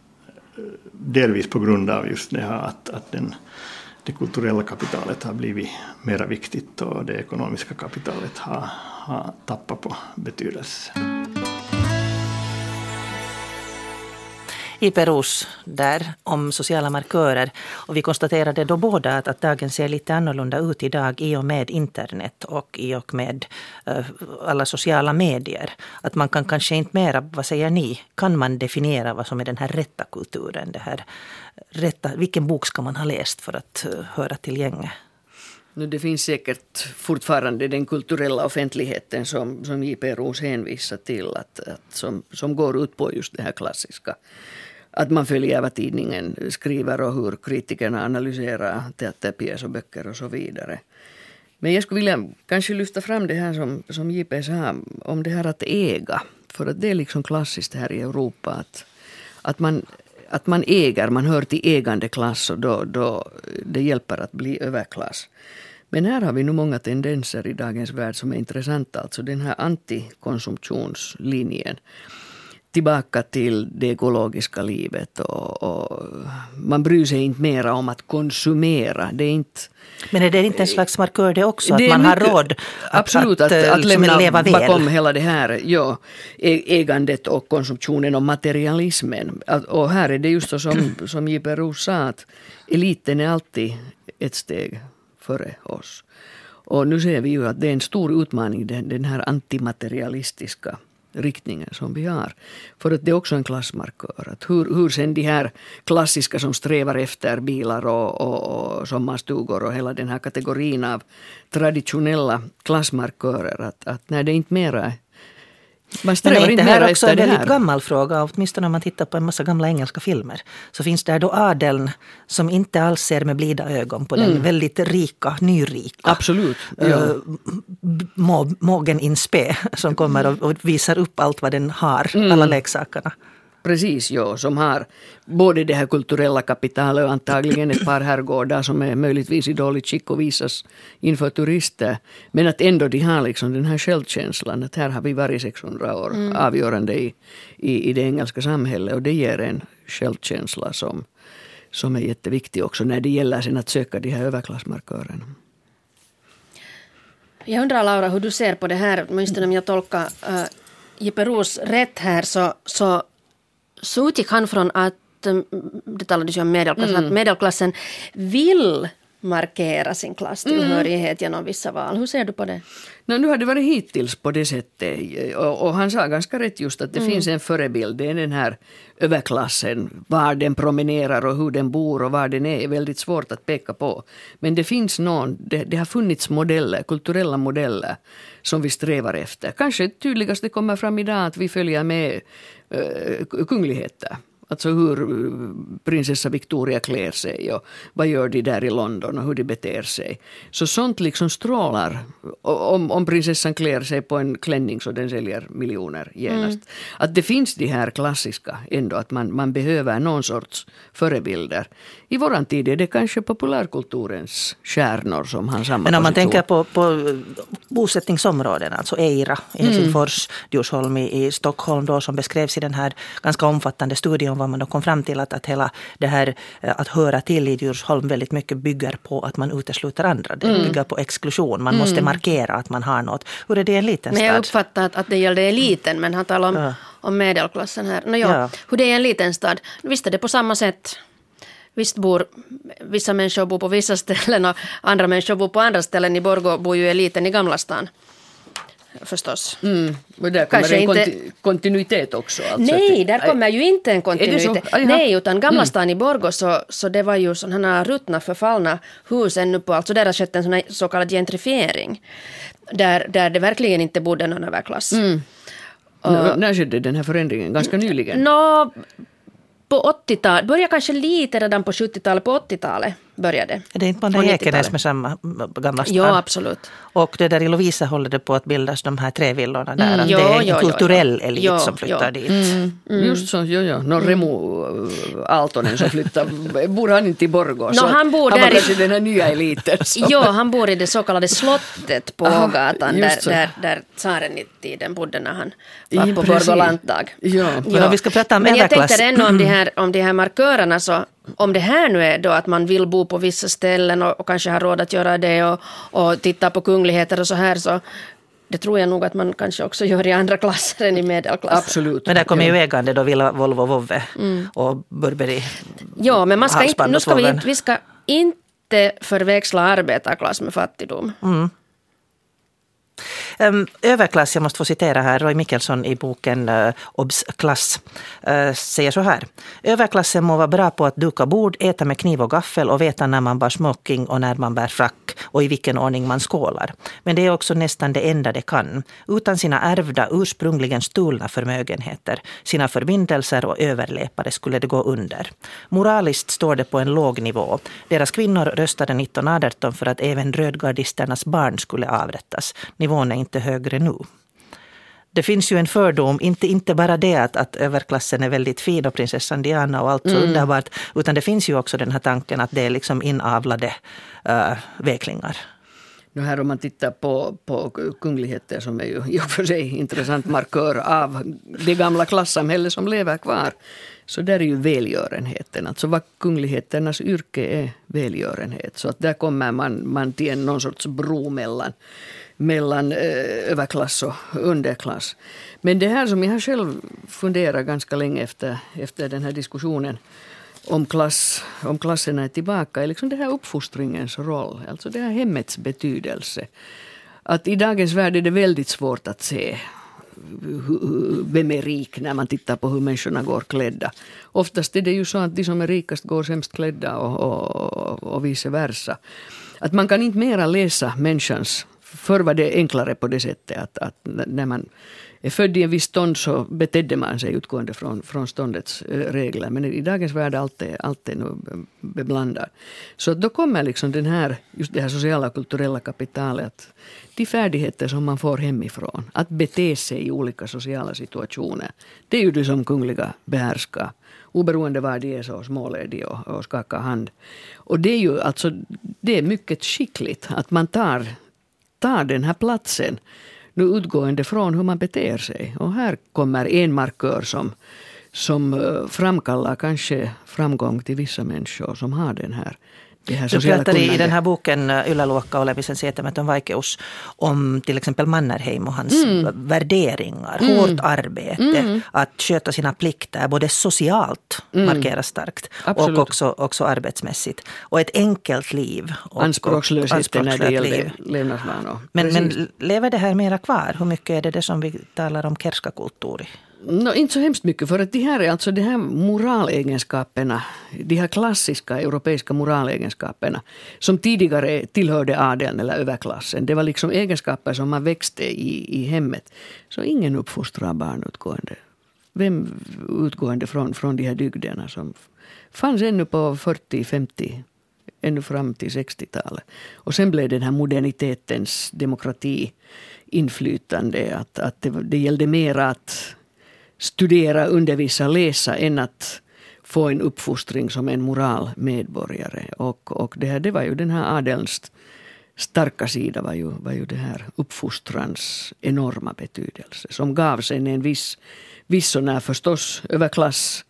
delvis på grund av just det här att det kulturella kapitalet har blivit mera viktigt och det ekonomiska kapitalet har tappat på betydelse. I Perus där om sociala markörer, och vi konstaterade då båda att dagen ser lite annorlunda ut idag i och med internet och i och med alla sociala medier. Att man kan kanske inte mera, vad säger ni, kan man definiera vad som är den här rätta kulturen, det här rätta, vilken bok ska man ha läst för att höra till gänget? Det finns säkert fortfarande den kulturella offentligheten som J.P. Roos hänvisar till, som går ut på just det här klassiska. Att man följer vad tidningen skriver och hur kritikerna analyserar teaterpjäs och böcker och så vidare. Men jag skulle vilja kanske lyfta fram det här som J.P. sa om det här att äga. För att det är liksom klassiskt här i Europa att att man hör till ägande klass och då det hjälper att bli överklass. Men här har vi nu många tendenser i dagens värld som är intressanta. Alltså den här antikonsumtionslinjen. Tillbaka till det ekologiska livet och man bryr sig inte mera om att konsumera. Det är inte, men är det inte en slags markör det också? Det att man mycket, har råd absolut, att lämna leva väl bakom hela det här ägandet och konsumtionen och materialismen. Och här är det just så som J.P. Roos sa, att eliten är alltid ett steg före oss. Och nu ser vi ju att det är en stor utmaning, den här antimaterialistiska riktningen som vi har. För att det är också en klassmarkör. Att hur sen de här klassiska som strävar efter bilar och sommarstugor och hela den här kategorin av traditionella klassmarkörer. Att när det inte mera man men är inte det här också en väldigt här gammal fråga? Åtminstone om man tittar på en massa gamla engelska filmer. Så finns det då adeln som inte alls ser med blida ögon på den väldigt rika, nyrika. Absolut. Ja. Mågen in spe som kommer och visar upp allt vad den har, alla leksakerna. Precis, ja, som har både det här kulturella kapitalet och antagligen ett par herrgårdar som är möjligtvis i dåligt skick och visas inför turister. Men att ändå de har liksom den här självkänslan att här har vi varit 600 år avgörande i det engelska samhället, och det ger en självkänsla som är jätteviktig också när det gäller sen att söka de här överklassmarkörerna. Jag undrar, Laura, hur du ser på det här, åtminstone om jag tolkar J.P. Roos rätt här, så utgick han från att, det talades ju om medelklassen, att medelklassen vill markera sin klasstillhörighet genom vissa val. Hur ser du på det? Nu har det varit hittills på det sättet, och han sa ganska rätt just att det finns en förebild, det är den här överklassen, var den promenerar och hur den bor och var den är väldigt svårt att peka på. Men det finns det har funnits modeller, kulturella modeller som vi strävar efter. Kanske tydligast det kommer fram idag att vi följer med kungligheter. Alltså hur prinsessa Victoria klär sig och vad gör de där i London och hur de beter sig. Så sånt liksom strålar. Om prinsessan klär sig på en klänning så den säljer miljoner genast. Att det finns de här klassiska ändå, att man behöver någon sorts förebilder. I våran tid är det kanske populärkulturens stjärnor som har samma Men om man position. tänker på bosättningsområden, alltså Eira i Helsingfors, Djursholm i Stockholm då, som beskrevs i den här ganska omfattande studien, var man då kom fram till att hela det här att höra till i Djursholm väldigt mycket bygger på att man utesluter andra. Det bygger på exklusion. Man måste markera att man har något. Hur är det i en liten stad? Men jag uppfattar att det gällde eliten, men han talar om medelklassen här. Hur det är i en liten stad? Visst är det på samma sätt. Visst vissa människor bor på vissa ställen och andra människor bor på andra ställen. I Borgå bor ju eliten i Gamla stan. Förstås. Och där kommer en kontinuitet också. Alltså Nej, där kommer ju inte en kontinuitet. Nej, utan Gamla stan i Borgå så det var ju sådana ruttna förfallna hus ännu på. Alltså där har skett en sån så kallad gentrifiering. Där det verkligen inte bodde någon överklass. När skedde den här förändringen? Ganska nyligen? På 80-talet, började kanske lite redan på 70-talet, på 80-talet började. Är det inte man där Ekenäs med samma Gamla stan? Ja, absolut. Och det där i Lovisa håller det på att bildas de här 3 villorna där. Det är en kulturell elit som flyttar dit. Just så, Remo Aaltonen som flyttar, bor han inte i Borgå? Han bor där i den här nya eliten. Han bor i det så kallade slottet på Ågatan, där tsaren i tiden bodde när han var på Borgå landdag. Men om vi ska prata om överklass. Jag tänkte ändå om de här markörerna, så om det här nu är då att man vill bo på vissa ställen och kanske har råd att göra det och titta på kungligheter och så här, så det tror jag nog att man kanske också gör i andra klasser än i medelklassen. Absolut. Men där kommer ju ägande då, Villa, Volvo, Vovve och Burberry. Ja, men vi ska inte förväxla arbetarklass med fattigdom. Överklass, jag måste få citera här, Roy Mikkelsson i boken Obs klass säger så här: överklassen må vara bra på att duka bord, äta med kniv och gaffel och veta när man bär smoking och när man bär frack och i vilken ordning man skålar. Men det är också nästan det enda det kan. Utan sina ärvda, ursprungligen stulna förmögenheter, sina förbindelser och överläpare skulle det gå under. Moraliskt står det på en låg nivå. Deras kvinnor röstade 1918 för att även rödgardisternas barn skulle avrättas. Nivån är inte högre nu. det finns ju en fördom, inte bara det att överklassen är väldigt fin och prinsessan Diana och allt så underbart, utan det finns ju också den här tanken att det är liksom inavlade veklingar. Nu här om man tittar på kungligheter som är ju i och för sig intressant markör av det gamla klassamhället som lever kvar. Så där är ju välgörenheten. Alltså vad kungligheternas yrke är välgörenhet. Så att där kommer man till någon sorts bro mellan överklass och underklass. Men det här som jag har själv funderat ganska länge efter den här diskussionen om klasserna är tillbaka är liksom det här uppfostringens roll, alltså det här hemmets betydelse. Att i dagens värld är det väldigt svårt att se vem är rik när man tittar på hur människorna går klädda. Oftast är det ju så att de som är rikast går sämst klädda och vice versa. Att man kan inte mera läsa människans. Förr var det enklare på det sättet att när man är född i en viss stånd så betedde man sig utgående från ståndets regler. Men i dagens värld allt är nu beblandat. Så då kommer liksom just det här sociala och kulturella kapitalet, de färdigheter som man får hemifrån, att bete sig i olika sociala situationer. Det är ju det som kungliga behärskar. Oberoende var de är så smålediga och skakar hand. Och det är ju alltså, det är mycket skickligt att man tar den här platsen nu utgående från hur man beter sig. Och här kommer en markör som framkallar kanske framgång till vissa människor som har det här du pratar i den här boken Ylä-Luokka Olemisen sietämätön vaikeus om till exempel Mannerheim och hans värderingar, hårt arbete, att sköta sina plikter både socialt markeras starkt och också arbetsmässigt. Och ett enkelt liv. Anspråkslösheten när det gäller levnadsvanor. Men lever det här mera kvar? Hur mycket är det som vi talar om kerskakulttuuri? Inte så hemskt mycket, för att de här moralegenskaperna, de här klassiska europeiska moralegenskaperna som tidigare tillhörde adeln eller överklassen, det var liksom egenskaper som man växte i hemmet. Så ingen uppfostrar barn utgående från de här dygderna som fanns ännu på 40-50, ännu fram till 60-talet. Och sen blev den här modernitetens demokrati inflytande, att det gällde mer att studera, undervisa, läsa än att få en uppfostring som en moral medborgare. Och det var ju den här adelns starka sida var ju det här uppfostrans enorma betydelse som gav sen en viss sån här förstås överklass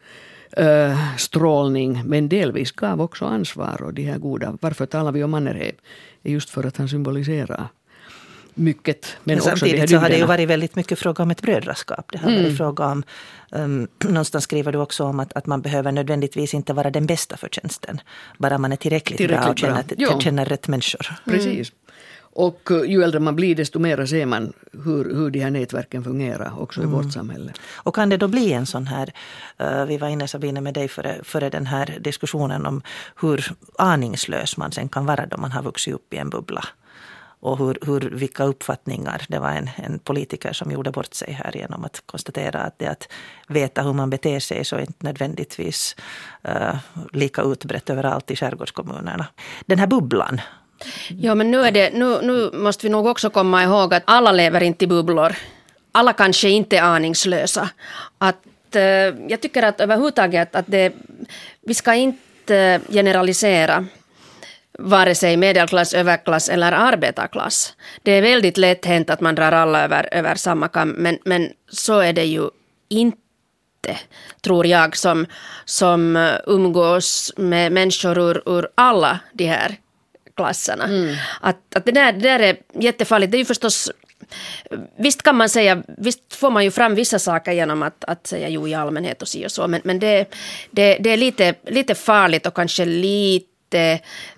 strålning, men delvis gav också ansvar och de här goda. Varför talar vi om Mannerheim? Är just för att han symboliserar mycket. Men samtidigt så har det ju varit väldigt mycket fråga om ett brödraskap. Det har varit fråga om, någonstans skriver du också om att man behöver nödvändigtvis inte vara den bästa för tjänsten. Bara man är tillräckligt bra och känner rätt människor. Precis. Och ju äldre man blir desto mer ser man hur de här nätverken fungerar också i vårt samhälle. Och kan det då bli en sån här, vi var inne Sabine med dig före den här diskussionen om hur aningslös man sen kan vara då man har vuxit upp i en bubbla. Och vilka uppfattningar. Det var en politiker som gjorde bort sig här genom att konstatera att det att veta hur man beter sig så är inte nödvändigtvis lika utbrett överallt i skärgårdskommunerna. Den här bubblan. Ja, men nu måste vi nog också komma ihåg att alla lever inte i bubblor. Alla kanske inte är aningslösa. Jag tycker att överhuvudtaget att vi ska inte generalisera vare sig medelklass, överklass eller arbetarklass. Det är väldigt lätt hänt att man drar alla över samma kam, men så är det ju inte, tror jag, som umgås med människor ur alla de här klasserna. Att det där är jättefarligt. Det är ju förstås, visst kan man säga, visst får man ju fram vissa saker genom att säga jo i allmänhet och så, men det är lite farligt och kanske lite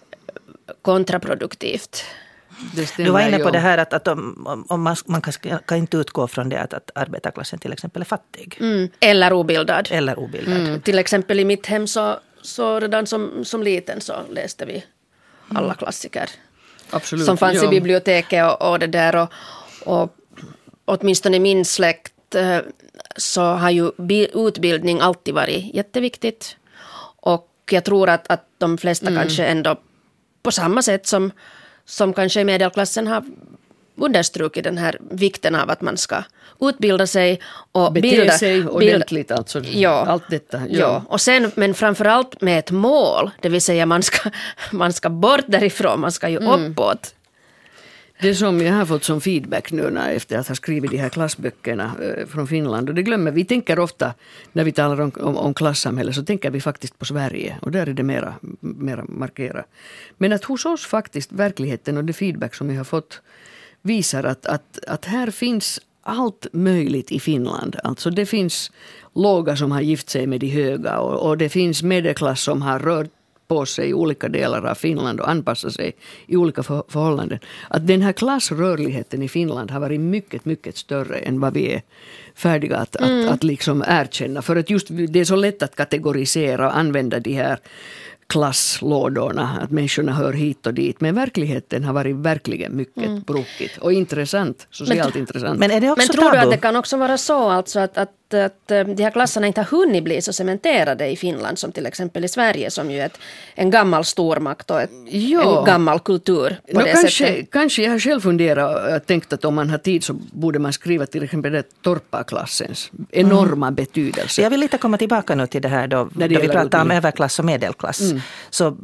kontraproduktivt. Du var inne på det här att om man kan inte utgå från det att arbetarklassen till exempel är fattig. Eller obildad. Till exempel i mitt hem så redan som liten så läste vi alla klassiker. Absolut, som fanns i biblioteket och det där. Och åtminstone i min släkt så har ju utbildning alltid varit jätteviktigt. Och jag tror att de flesta kanske ändå på samma sätt som kanske i medelklassen har understrukit den här vikten av att man ska utbilda sig och bete sig ordentligt, alltså allt detta. Ja. Och sen, men framförallt med ett mål, det vill säga man ska bort därifrån, man ska ju uppåt. Det som jag har fått som feedback nu efter att ha skrivit de här klassböckerna från Finland, och det glömmer vi, tänker ofta när vi talar om klassamhälle, så tänker vi faktiskt på Sverige, och där är det mera markerat. Men att hos oss faktiskt verkligheten och det feedback som jag har fått visar att här finns allt möjligt i Finland. Alltså det finns låga som har gift sig med de höga, och det finns medelklass som har rört på sig i olika delar av Finland och anpassa sig i olika förhållanden. Att den här klassrörligheten i Finland har varit mycket, mycket större än vad vi är färdiga att liksom erkänna. För att just det är så lätt att kategorisera och använda de här klasslådorna, att människorna hör hit och dit. Men verkligheten har varit verkligen mycket brokigt och intressant, socialt intressant. Men är det också tror du att det kan också vara så alltså att de här klasserna inte har hunnit bli så cementerade i Finland som till exempel i Sverige, som ju är en gammal stormakt och en gammal kultur på det sättet? Kanske jag har själv funderat och tänkt att om man har tid så borde man skriva till exempel det torparklassens enorma betydelse. Jag vill lite komma tillbaka nu till det här då vi pratar om överklass och medelklass. Så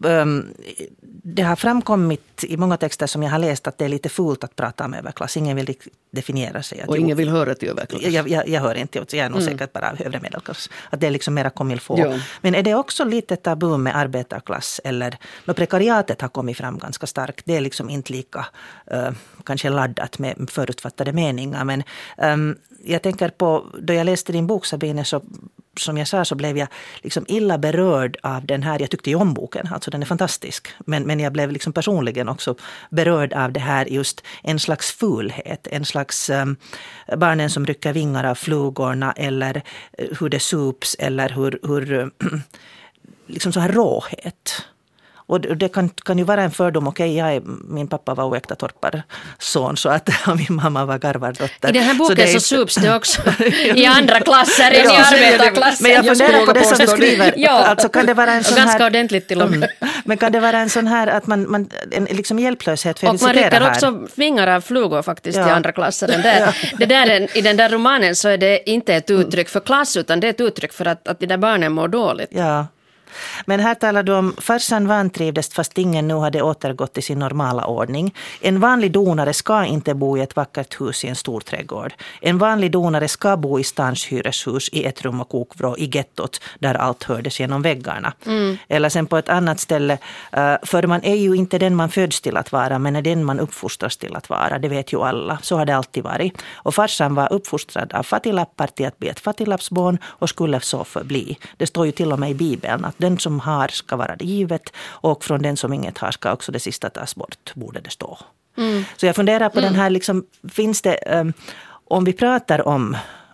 det har framkommit i många texter som jag har läst att det är lite fult att prata om överklass. Ingen vill definiera sig. Och ingen vill höra till överklass. Jag hör inte, jag är nog säkert bara övre medelklass. Att det är liksom mera comme il faut. Ja. Men är det också lite tabu med arbetarklass? Eller när prekariatet har kommit fram ganska starkt. Det är liksom inte lika kanske laddat med förutfattade meningar. Men jag tänker på, då jag läste din bok, Sabine, så som jag sa så blev jag liksom illa berörd av den här. Jag tyckte ju om boken, alltså den är fantastisk. Men jag blev liksom personligen också berörd av det här, just en slags fulhet. En slags barnen som rycker vingar av flugorna, eller hur det sups, eller hur liksom så här råhet. Och det kan ju vara en fördom. Okej, min pappa var oäkta torparson, så att min mamma var garvardotter. I den här boken så sups det också i andra klasser än i arbetarklasser. Men jag funderar på det som du skriver. Alltså kan det vara en sån ganska här, ordentligt till och med. Men kan det vara en sån här att man en liksom hjälplöshet för att citera här? Och man rycker också vingar av flugor faktiskt i andra klasser. Det där, i den där romanen så är det inte ett uttryck för klass, utan det är ett uttryck för att de där barnen mår dåligt. Ja. Men här talar du om farsan vantrivdes fast ingen nu hade återgått till sin normala ordning. En vanlig donare ska inte bo i ett vackert hus i en stor trädgård. En vanlig donare ska bo i stans hyreshus i ett rum och kokvrå i gettot där allt hördes genom väggarna. Eller sen på ett annat ställe, för man är ju inte den man föds till att vara, men är den man uppfostras till att vara. Det vet ju alla. Så har det alltid varit. Och farsan var uppfostrad av fattiglappar till att bli ett fattiglappsbarn och skulle så förbli. Det står ju till och med i Bibeln att den som har ska vara det givet, och från den som inget har ska också det sista tas bort, borde det stå. Så jag funderar på den här, liksom, finns det, om vi pratar om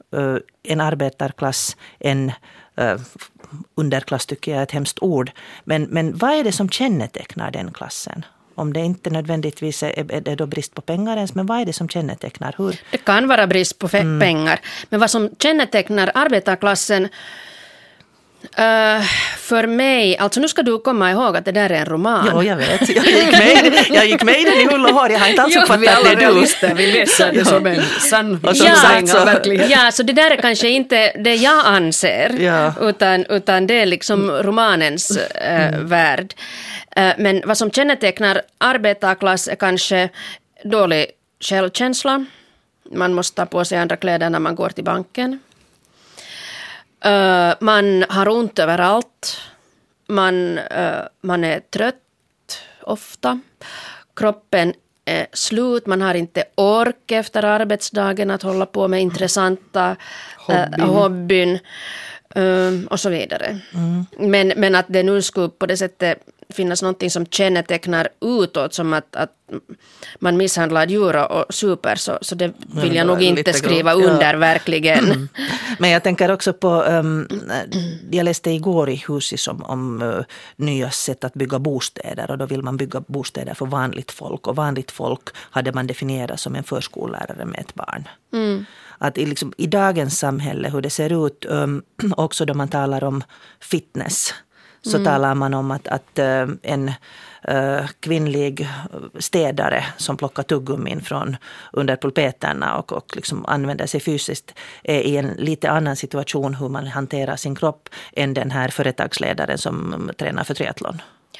en arbetarklass, en underklass tycker jag är ett hemskt ord, men vad är det som kännetecknar den klassen? Om det inte nödvändigtvis är det då brist på pengar ens, men vad är det som kännetecknar? Hur? Det kan vara brist på pengar, men vad som kännetecknar arbetarklassen för mig, alltså nu ska du komma ihåg att det där är en roman. Ja, jag vet. Jag gick med i den i hull och hår. Jag har inte alls uppfattat vi alla det realister, vi läser det som en sann verklighet. Ja, så det där är kanske inte det jag anser, utan det är liksom romanens värld. Men vad som kännetecknar arbetarklass är kanske dålig självkänsla. Man måste ta på sig andra kläder när man går till banken. Man har ont överallt. Man är trött ofta. Kroppen är slut. Man har inte ork efter arbetsdagen att hålla på med intressanta hobbyn och så vidare. Men att det nu skulle på det sättet finnas någonting som kännetecknar utåt, som att man misshandlar djur och super, så det vill jag nog inte skriva under verkligen. Men jag tänker också på, jag läste igår i Husis om nya sätt att bygga bostäder, och då vill man bygga bostäder för vanligt folk, och vanligt folk hade man definierat som en förskollärare med ett barn. Att i dagens samhälle, hur det ser ut, också då man talar om fitness, så talar man om att en kvinnlig städare som plockar tuggummin från under pulpeterna och liksom använder sig fysiskt är i en lite annan situation hur man hanterar sin kropp än den här företagsledaren som tränar för triathlon.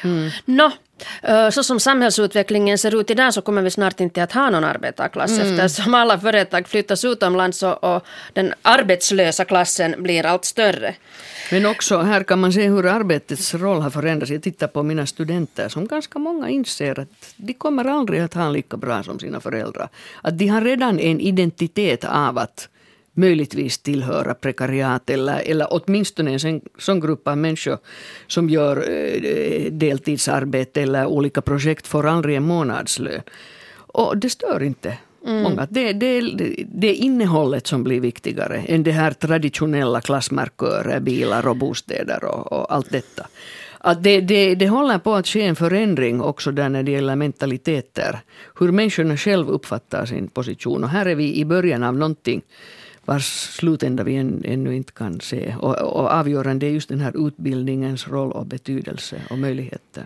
Så som samhällsutvecklingen ser ut idag så kommer vi snart inte att ha någon arbetarklass eftersom alla företag flyttas utomlands och den arbetslösa klassen blir allt större. Men också här kan man se hur arbetets roll har förändrats. Jag tittar på mina studenter som ganska många inser att de kommer aldrig att ha lika bra som sina föräldrar. Att de har redan en identitet av att möjligtvis tillhöra prekariat eller åtminstone en sån grupp av människor som gör deltidsarbete eller olika projekt får aldrig en månadslön. Och det stör inte många. Det är innehållet som blir viktigare än det här traditionella klassmarkörer, bilar och bostäder och allt detta. Att det håller på att ske en förändring också där när det gäller mentaliteter. Hur människorna själv uppfattar sin position. Och här är vi i början av någonting vars slutända vi ännu inte kan se. Och avgörande är just den här utbildningens roll och betydelse och möjligheter.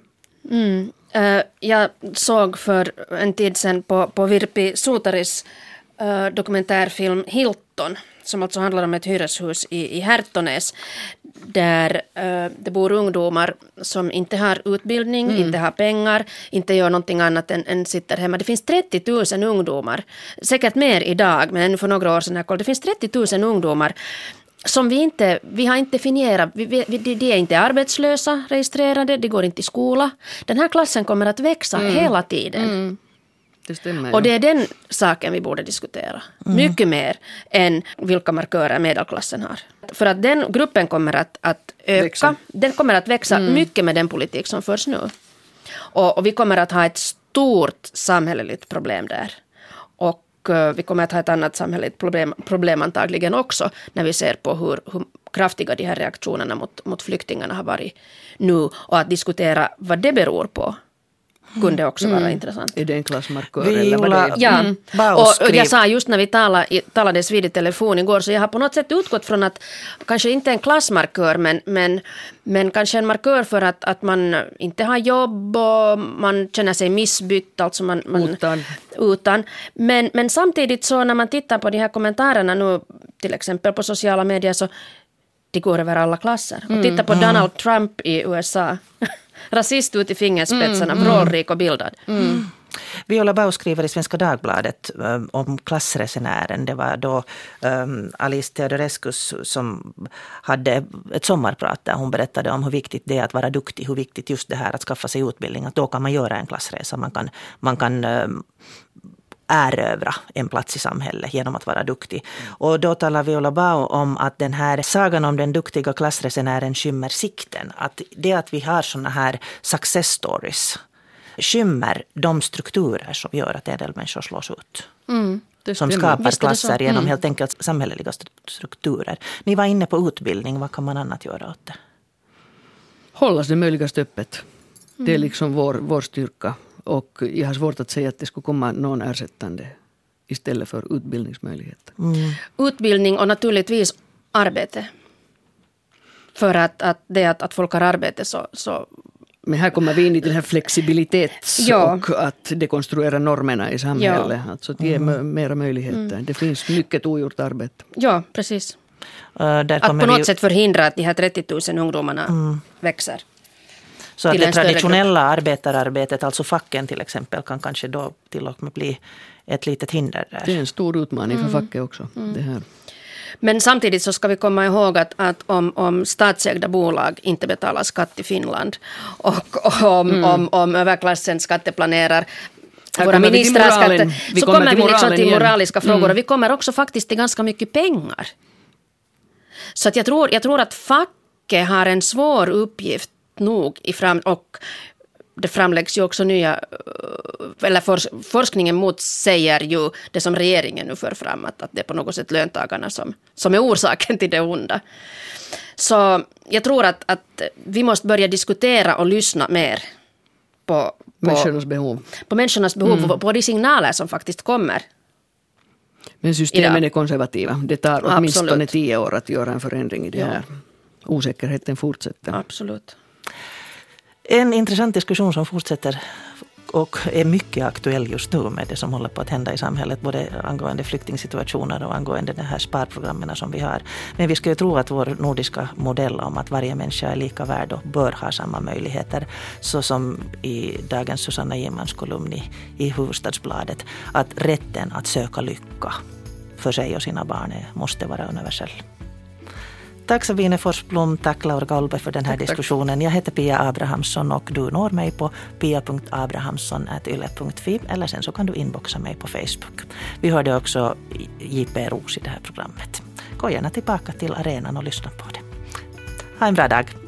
Jag såg för en tid sedan på Virpi Suutaris dokumentärfilm Hilton, som alltså handlar om ett hyreshus i Härtonäs där det bor ungdomar som inte har utbildning, inte har pengar, inte gör någonting annat än sitter hemma. Det finns 30 000 ungdomar, säkert mer idag, men ännu för några år sedan. Det finns 30 000 ungdomar som vi har inte definierat. De är inte arbetslösa, registrerade, de går inte i skola. Den här klassen kommer att växa hela tiden. Det stämmer, och det är den saken vi borde diskutera. Mycket mer än vilka markörer medelklassen har. För att den gruppen kommer att öka. Den kommer att växa mycket med den politik som förs nu. Och vi kommer att ha ett stort samhälleligt problem där. Och vi kommer att ha ett annat samhälleligt problem antagligen också när vi ser på hur kraftiga de här reaktionerna mot flyktingarna har varit nu. Och att diskutera vad det beror på kunde också vara intressant. Är det en klassmarkör eller vad det är? Ja, och jag sa just när vi talades vid i telefon igår, så jag har på något sätt utgått från att kanske inte en klassmarkör men kanske en markör för att man inte har jobb och man känner sig missbytt, alltså man utan. Men samtidigt så när man tittar på de här kommentarerna nu till exempel på sociala medier så det går över alla klasser. Och titta på Donald Trump i USA. Rasist ut i fingerspetsarna, vrålrik och bildad. Viola Bau skriver i Svenska Dagbladet om klassresenären. Det var då Alice Teodorescus som hade ett sommarprat där hon berättade om hur viktigt det är att vara duktig, hur viktigt just det här att skaffa sig utbildning. Att då kan man göra en klassresa, man kan erövra en plats i samhället genom att vara duktig. Och då talar Viola Bau om att den här sagan om den duktiga klassresenären skymmer sikten. Att det att vi har såna här success stories skymmer de strukturer som gör att en del människor slås ut. Som skapar klasser genom helt enkelt samhälleliga strukturer. Ni var inne på utbildning, vad kan man annat göra åt det? Hållas det möjligast öppet. Det är liksom vår styrka. Och jag har svårt att säga att det skulle komma någon ersättande istället för utbildningsmöjligheter. Utbildning och naturligtvis arbete. För att folk har arbete så... Men här kommer vi in i den här flexibilitets och att dekonstruera normerna i samhället. Alltså att ge mera möjligheter. Det finns mycket ogjort arbete. Ja, precis. Att på något sätt förhindra att de här 30 000 ungdomarna växer. Så att det traditionella arbetararbetet, alltså facken till exempel, kan kanske då till och med bli ett litet hinder där. Det är en stor utmaning för facket också. Det här. Men samtidigt så ska vi komma ihåg att om statsägda bolag inte betalar skatt i Finland och om överklassen skatteplanerar våra ministrar så kommer vi liksom till moraliska frågor och vi kommer också faktiskt till ganska mycket pengar. Så att jag tror att facket har en svår uppgift nog och det framläggs ju också nya, eller forskningen motsäger ju det som regeringen nu för fram, att det är på något sätt löntagarna som är orsaken till det onda. Så jag tror att vi måste börja diskutera och lyssna mer på människornas behov. På människornas behov, på de signaler som faktiskt kommer. Men systemen är konservativa. Det tar åtminstone 10 år att göra en förändring i det här. Osäkerheten fortsätter. Absolut. En intressant diskussion som fortsätter och är mycket aktuell just nu med det som håller på att hända i samhället, både angående flyktingsituationer och angående de här sparprogrammen som vi har. Men vi ska ju tro att vår nordiska modell om att varje människa är lika värd och bör ha samma möjligheter, så som i dagens Susanna Gimmans kolumn i Hufvudstadsbladet, att rätten att söka lycka för sig och sina barn måste vara universell. Tack Sabine Forsblom, tack Laura Galbe för den här diskussionen. Jag heter Pia Abrahamsson och du når mig på pia.abrahamsson@yle.fi eller sen så kan du inboxa mig på Facebook. Vi hörde också J.P. Roos i det här programmet. Gå gärna tillbaka till arenan och lyssna på det. Ha en bra dag.